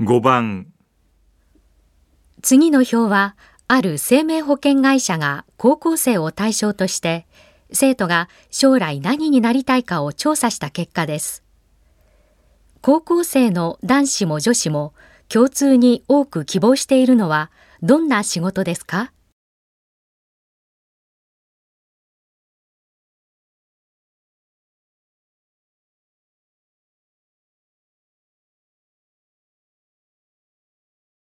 5番。 次の表は、ある生命保険会社が高校生を対象として、生徒が将来何になりたいかを調査した結果です。高校生の男子も女子も共通に多く希望しているのはどんな仕事ですか？